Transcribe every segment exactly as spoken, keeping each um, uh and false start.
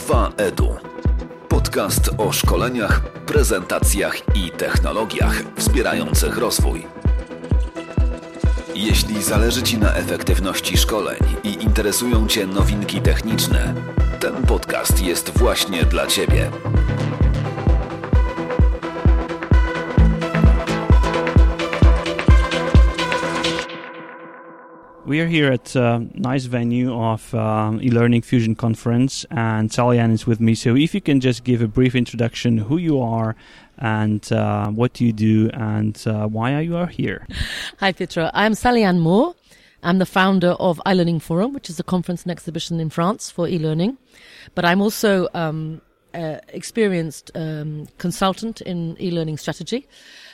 dwa Edu. Podcast o szkoleniach, prezentacjach i technologiach wspierających rozwój. Jeśli zależy Ci na efektywności szkoleń i interesują Cię nowinki techniczne, ten podcast jest właśnie dla Ciebie. We are here at a nice venue of um, eLearning Fusion Conference, and Salian is with me. So if you can just give a brief introduction, who you are and uh, what you do and uh, why are you are here? Hi, Pietro. I'm Salian Moore. I'm the founder of iLearning Forum, which is a conference and exhibition in France for e-learning. But I'm also um, uh, experienced um, consultant in e-learning strategy.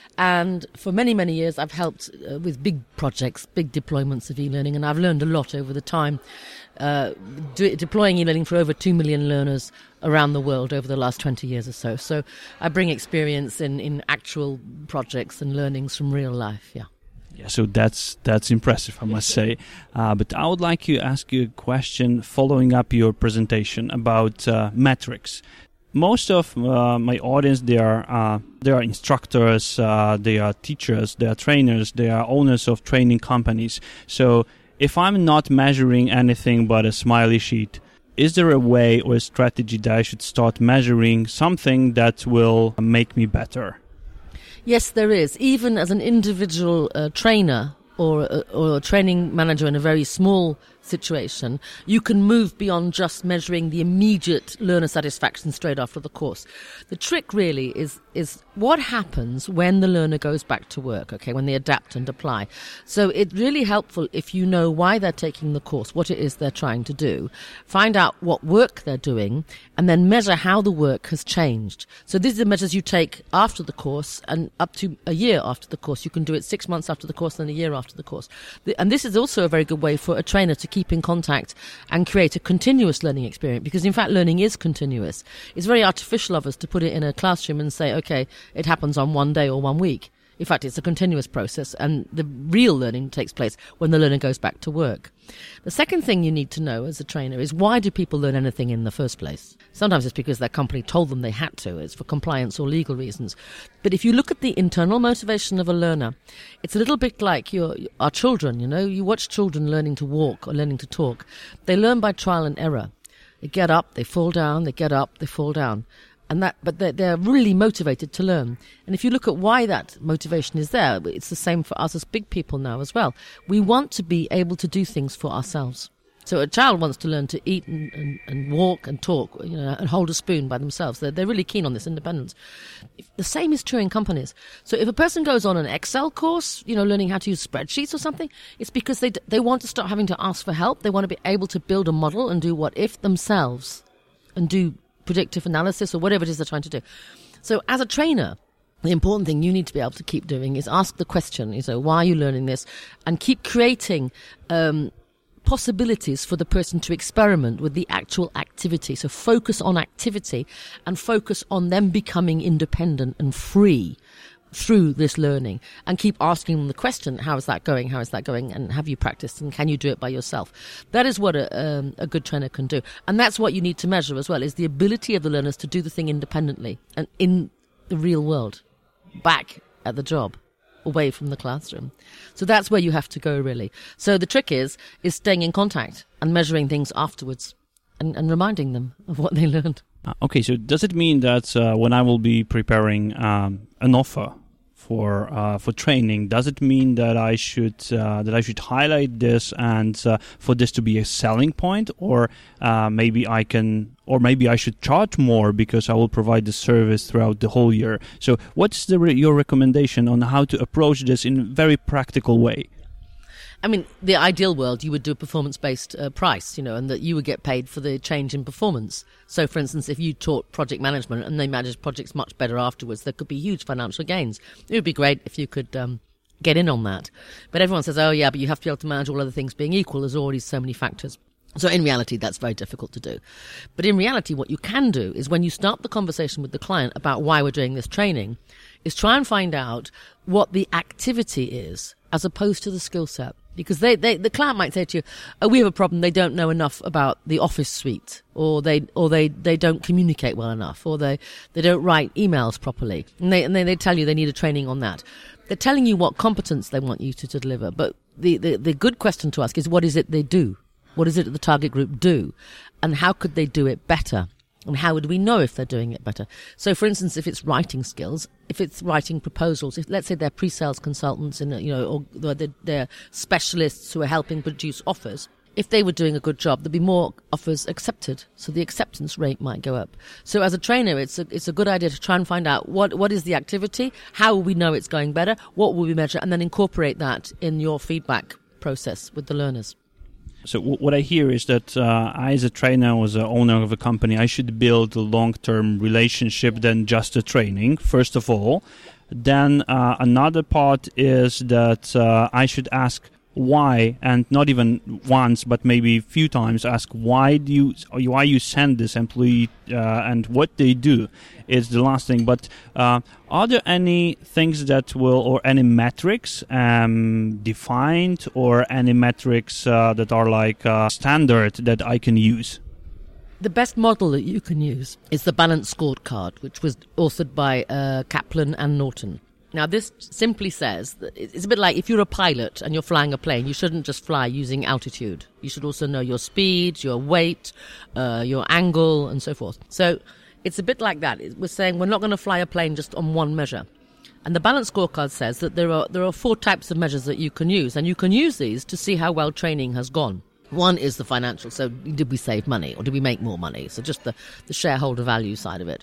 And for many, many years, I've helped uh, with big projects, big deployments of e-learning, and I've learned a lot over the time, uh, de- deploying e-learning for over two million learners around the world over the last twenty years or so. So I bring experience in, in actual projects and learnings from real life, yeah. Yeah, so that's that's impressive, I must say. Uh, but I would like to ask you a question following up your presentation about uh, metrics. Most of uh, my audience, they are uh, they are instructors, uh, they are teachers, they are trainers, they are owners of training companies. So if I'm not measuring anything but a smiley sheet, is there a way or a strategy that I should start measuring something that will make me better? Yes, there is. Even as an individual uh, trainer or a, or a training manager in a very small situation, you can move beyond just measuring the immediate learner satisfaction straight after the course. The trick really is is what happens when the learner goes back to work, okay, when they adapt and apply. So it's really helpful if you know why they're taking the course, what it is they're trying to do, find out what work they're doing, and then measure how the work has changed. So these are the measures you take after the course and up to a year after the course. You can do it six months after the course and a year after the course. And this is also a very good way for a trainer to keep in contact and create a continuous learning experience, because in fact learning is continuous. It's very artificial of us to put it in a classroom and say, okay, it happens on one day or one week. In fact, it's a continuous process, and the real learning takes place when the learner goes back to work. The second thing you need to know as a trainer is, why do people learn anything in the first place? Sometimes it's because their company told them they had to. It's for compliance or legal reasons. But if you look at the internal motivation of a learner, it's a little bit like your our children, you know. You watch children learning to walk or learning to talk. They learn by trial and error. They get up, they fall down, they get up, they fall down. And that, but they're, they're really motivated to learn. And if you look at why that motivation is there, it's the same for us as big people now as well. We want to be able to do things for ourselves. So a child wants to learn to eat and, and, and walk and talk, you know, and hold a spoon by themselves. They're, they're really keen on this independence. If, the same is true in companies. So if a person goes on an Excel course, you know, learning how to use spreadsheets or something, it's because they they want to start having to ask for help. They want to be able to build a model and do what if themselves and do predictive analysis or whatever it is they're trying to do. So as a trainer, the important thing you need to be able to keep doing is ask the question, you know, why are you learning this? And keep creating um, possibilities for the person to experiment with the actual activity. So focus on activity and focus on them becoming independent and free through this learning, and keep asking them the question, how is that going, how is that going, and have you practiced, and can you do it by yourself? That is what a, um, a good trainer can do, and that's what you need to measure as well, is the ability of the learners to do the thing independently and in the real world, back at the job, away from the classroom. So that's where you have to go, really. So the trick is is staying in contact and measuring things afterwards and, and reminding them of what they learned. Uh, okay, so does it mean that uh, when I will be preparing um, an offer for uh, for training, does it mean that I should uh, that I should highlight this and uh, for this to be a selling point, or uh, maybe I can, or maybe I should charge more because I will provide the service throughout the whole year? So, what's the re- your recommendation on how to approach this in a very practical way? I mean, the ideal world, you would do a performance-based uh, price, you know, and that you would get paid for the change in performance. So, for instance, if you taught project management and they managed projects much better afterwards, there could be huge financial gains. It would be great if you could um, get in on that. But everyone says, oh, yeah, but you have to be able to manage all other things being equal. There's already so many factors. So in reality, that's very difficult to do. But in reality, what you can do is when you start the conversation with the client about why we're doing this training, is try and find out what the activity is as opposed to the skill set. Because they, they, the client might say to you, oh, we have a problem, they don't know enough about the Office suite, or they or they, they don't communicate well enough, or they, they don't write emails properly. And they and they, they tell you they need a training on that. They're telling you what competence they want you to, to deliver. But the, the, the good question to ask is, what is it they do? What is it that the target group do? And how could they do it better? And how would we know if they're doing it better? So, for instance, if it's writing skills, if it's writing proposals, if let's say they're pre-sales consultants, in a, you know, or they're, they're specialists who are helping produce offers, if they were doing a good job, there'd be more offers accepted. So the acceptance rate might go up. So as a trainer, it's a, it's a good idea to try and find out what, what is the activity, how will we know it's going better, what will we measure, and then incorporate that in your feedback process with the learners. So w- what I hear is that uh, I, as a trainer, or as an owner of a company, I should build a long-term relationship than just a training, first of all. Then uh, another part is that uh, I should ask why, and not even once, but maybe a few times, ask why do you why you send this employee uh, and what they do is the last thing. But uh, are there any things that will, or any metrics um, defined, or any metrics uh, that are like uh, standard that I can use? The best model that you can use is the Balance Scorecard, which was authored by uh, Kaplan and Norton. Now, this simply says that it's a bit like if you're a pilot and you're flying a plane, you shouldn't just fly using altitude. You should also know your speed, your weight, uh, your angle, and so forth. So it's a bit like that. We're saying we're not going to fly a plane just on one measure. And the Balance Scorecard says that there are there are four types of measures that you can use, and you can use these to see how well training has gone. One is the financial. So did we save money, or did we make more money? So just the, the shareholder value side of it.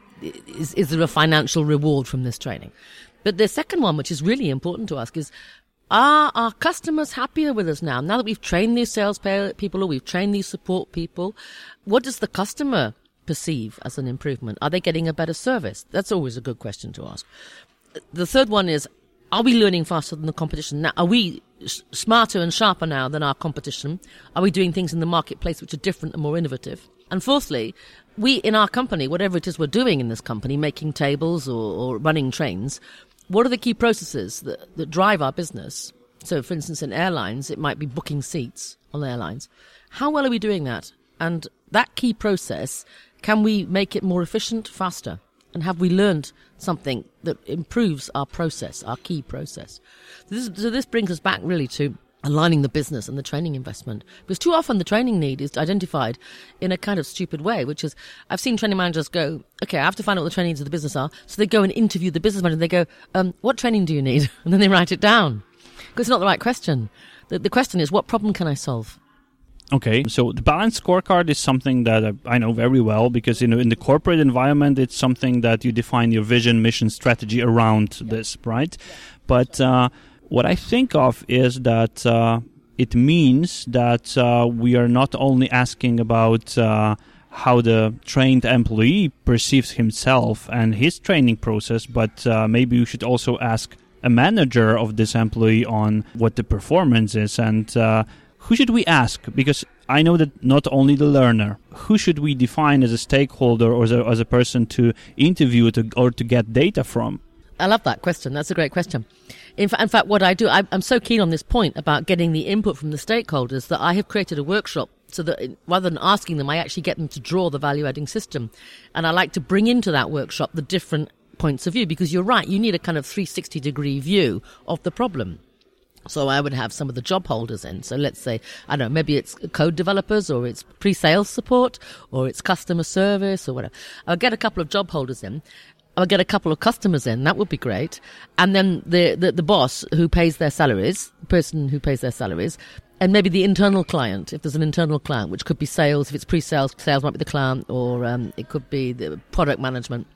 Is, is there a financial reward from this training? But the second one, which is really important to ask, is, are our customers happier with us now? Now that we've trained these sales people, or we've trained these support people, what does the customer perceive as an improvement? Are they getting a better service? That's always a good question to ask. The third one is, are we learning faster than the competition? Now, are we smarter and sharper now than our competition? Are we doing things in the marketplace which are different and more innovative? And fourthly, we in our company, whatever it is we're doing in this company, making tables or, or running trains, what are the key processes that, that drive our business? So, for instance, in airlines, it might be booking seats on airlines. How well are we doing that? And that key process, can we make it more efficient, faster? And have we learned something that improves our process, our key process? So this, so this brings us back really to aligning the business and the training investment. Because too often the training need is identified in a kind of stupid way, which is, I've seen training managers go, okay, I have to find out what the training needs of the business are. So they go and interview the business manager and they go, um, what training do you need? And then they write it down. Because it's not the right question. The, the question is, what problem can I solve? Okay, so the Balance Scorecard is something that I know very well, because you know in the corporate environment it's something that you define your vision, mission, strategy around this, right? But uh, what I think of is that uh, it means that uh, we are not only asking about uh, how the trained employee perceives himself and his training process, but uh, maybe we should also ask a manager of this employee on what the performance is. And uh, who should we ask? Because I know that not only the learner, who should we define as a stakeholder or as a, as a person to interview to, or to get data from? I love that question. That's a great question. In, fa- in fact, what I do, I, I'm so keen on this point about getting the input from the stakeholders that I have created a workshop so that rather than asking them, I actually get them to draw the value-adding system. And I like to bring into that workshop the different points of view, because you're right, you need a kind of three sixty degree view of the problem. So I would have some of the job holders in. So let's say, I don't know, maybe it's code developers, or it's pre-sales support, or it's customer service, or whatever. I'll get a couple of job holders in. I'll get a couple of customers in. That would be great. And then the, the, the boss who pays their salaries, the person who pays their salaries, and maybe the internal client, if there's an internal client, which could be sales. If it's pre-sales, sales might be the client, or um, it could be the product management.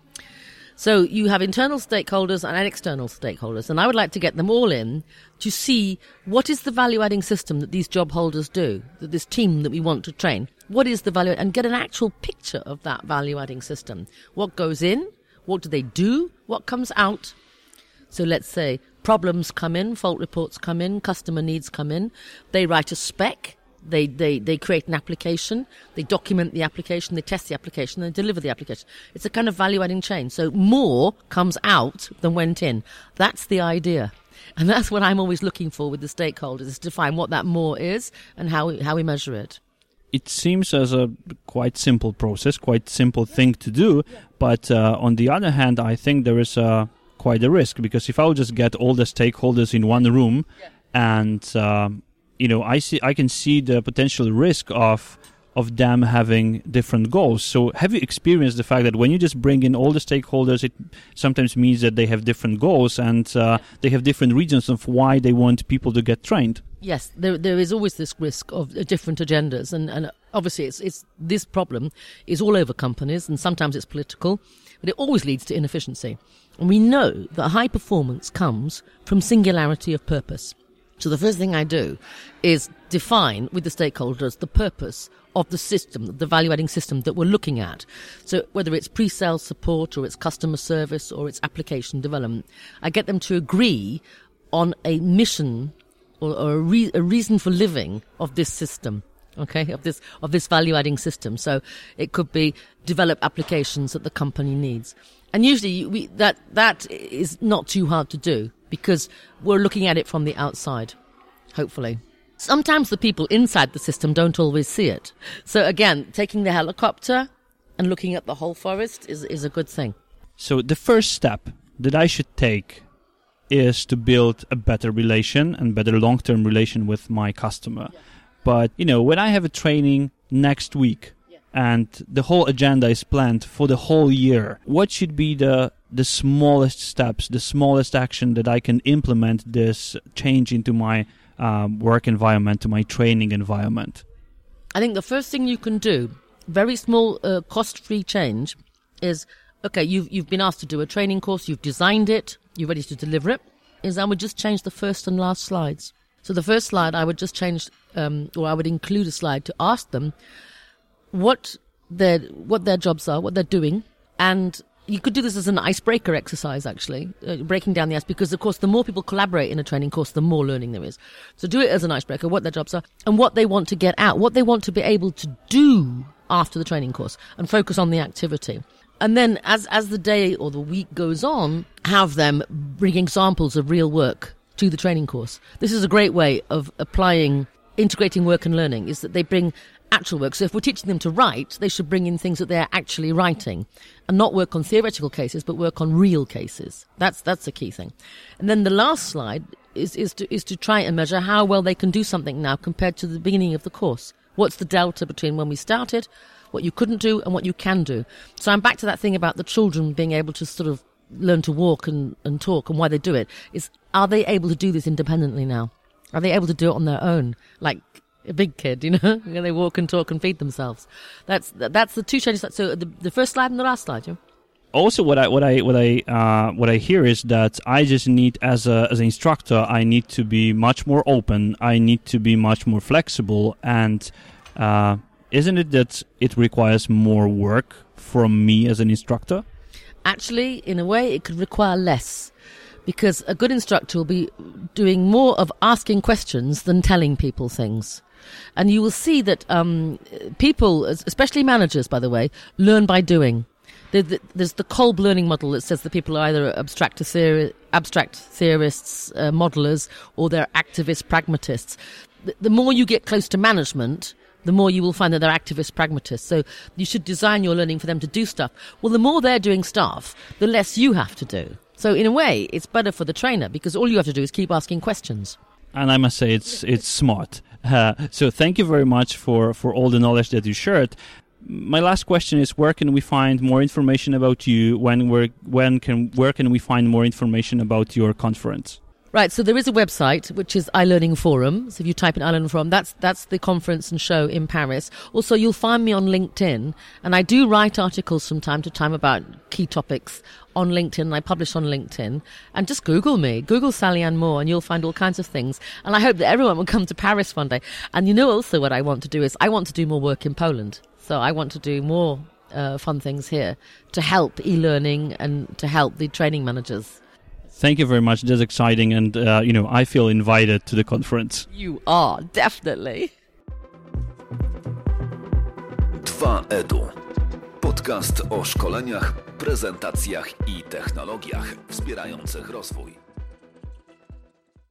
So you have internal stakeholders and external stakeholders, and I would like to get them all in to see what is the value-adding system that these job holders do, that this team that we want to train, what is the value, and get an actual picture of that value-adding system. What goes in? What do they do? What comes out? So let's say problems come in, fault reports come in, customer needs come in. They write a spec. They, they, they create an application, they document the application, they test the application, they deliver the application. It's a kind of value-adding chain. So more comes out than went in. That's the idea. And that's what I'm always looking for with the stakeholders, is to find what that more is and how we, how we measure it. It seems as a quite simple process, quite simple thing to do. But uh, on the other hand, I think there is uh, quite a risk, because if I would just get all the stakeholders in one room and, uh, you know, I see, I can see the potential risk of of them having different goals. So have you experienced the fact that when you just bring in all the stakeholders, it sometimes means that they have different goals and uh, they have different reasons of why they want people to get trained? Yes, there there is always this risk of uh, different agendas, and, and obviously it's it's this problem is all over companies, and sometimes it's political, but it always leads to inefficiency. And we know that high performance comes from singularity of purpose. So the first thing I do is define with the stakeholders the purpose of the system, the value-adding system that we're looking at. So whether it's pre-sales support or it's customer service or it's application development, I get them to agree on a mission or, or a, re- a reason for living of this system. Okay, of this of this value-adding system. So it could be develop applications that the company needs, and usually we, that that is not too hard to do because we're looking at it from the outside. Hopefully, sometimes the people inside the system don't always see it. So again, taking the helicopter and looking at the whole forest is is a good thing. So the first step that I should take is to build a better relation and better long-term relation with my customer. Yeah. But, you know, when I have a training next week yeah. and the whole agenda is planned for the whole year, what should be the the smallest steps, the smallest action that I can implement this change into my um, work environment, to my training environment? I think the first thing you can do, very small uh, cost-free change, is, okay, you've, you've been asked to do a training course, you've designed it, you're ready to deliver it, is I would just change the first and last slides. So the first slide, I would just change, um, or I would include a slide to ask them what their what their jobs are, what they're doing, and you could do this as an icebreaker exercise, actually, uh, breaking down the ice, because, of course, the more people collaborate in a training course, the more learning there is. So do it as an icebreaker, what their jobs are, and what they want to get out, what they want to be able to do after the training course, and focus on the activity. And then as as the day or the week goes on, have them bring examples of real work to the training course. This is a great way of applying, integrating work and learning, is that they bring actual work. So if we're teaching them to write, they should bring in things that they're actually writing and not work on theoretical cases, but work on real cases. That's that's the key thing. And then the last slide is, is to is to try and measure how well they can do something now compared to the beginning of the course. What's the delta between when we started, what you couldn't do, and what you can do? So I'm back to that thing about the children being able to sort of learn to walk and, and talk, and why they do it is, are they able to do this independently now? Are they able to do it on their own? Like a big kid, you know, when they walk and talk and feed themselves. That's that's the two changes. So the, the first slide and the last slide, yeah? Also, what I what I what I uh, what I hear is that I just need, as a as an instructor, I need to be much more open. I need to be much more flexible, and uh, isn't it that it requires more work from me as an instructor? Actually, in a way, it could require less, because a good instructor will be doing more of asking questions than telling people things. And you will see that um, people, especially managers, by the way, learn by doing. There's the Kolb learning model that says that people are either abstract, theori- abstract theorists, uh, modelers, or they're activist pragmatists. The, the more you get close to management, the more you will find that they're activist pragmatists. So you should design your learning for them to do stuff. Well, the more they're doing stuff, the less you have to do. So in a way, it's better for the trainer, because all you have to do is keep asking questions. And I must say, it's it's smart. Uh, so thank you very much for, for all the knowledge that you shared. My last question is, where can we find more information about you? When we're, when can where can we find more information about your conference? Right, so there is a website, which is iLearning Forum. So if you type in iLearning Forum, that's that's the conference and show in Paris. Also, you'll find me on LinkedIn, and I do write articles from time to time about key topics on LinkedIn, and I publish on LinkedIn. And just Google me, Google Sally-Ann Moore, and you'll find all kinds of things. And I hope that everyone will come to Paris one day. And you know also what I want to do is, I want to do more work in Poland. So I want to do more uh, fun things here to help e-learning and to help the training managers. Thank you very much. That's exciting, and uh, you know, I feel invited to the conference. You are, definitely. dwa Edu. Podcast o szkoleniach, prezentacjach i technologiach wspierających rozwój.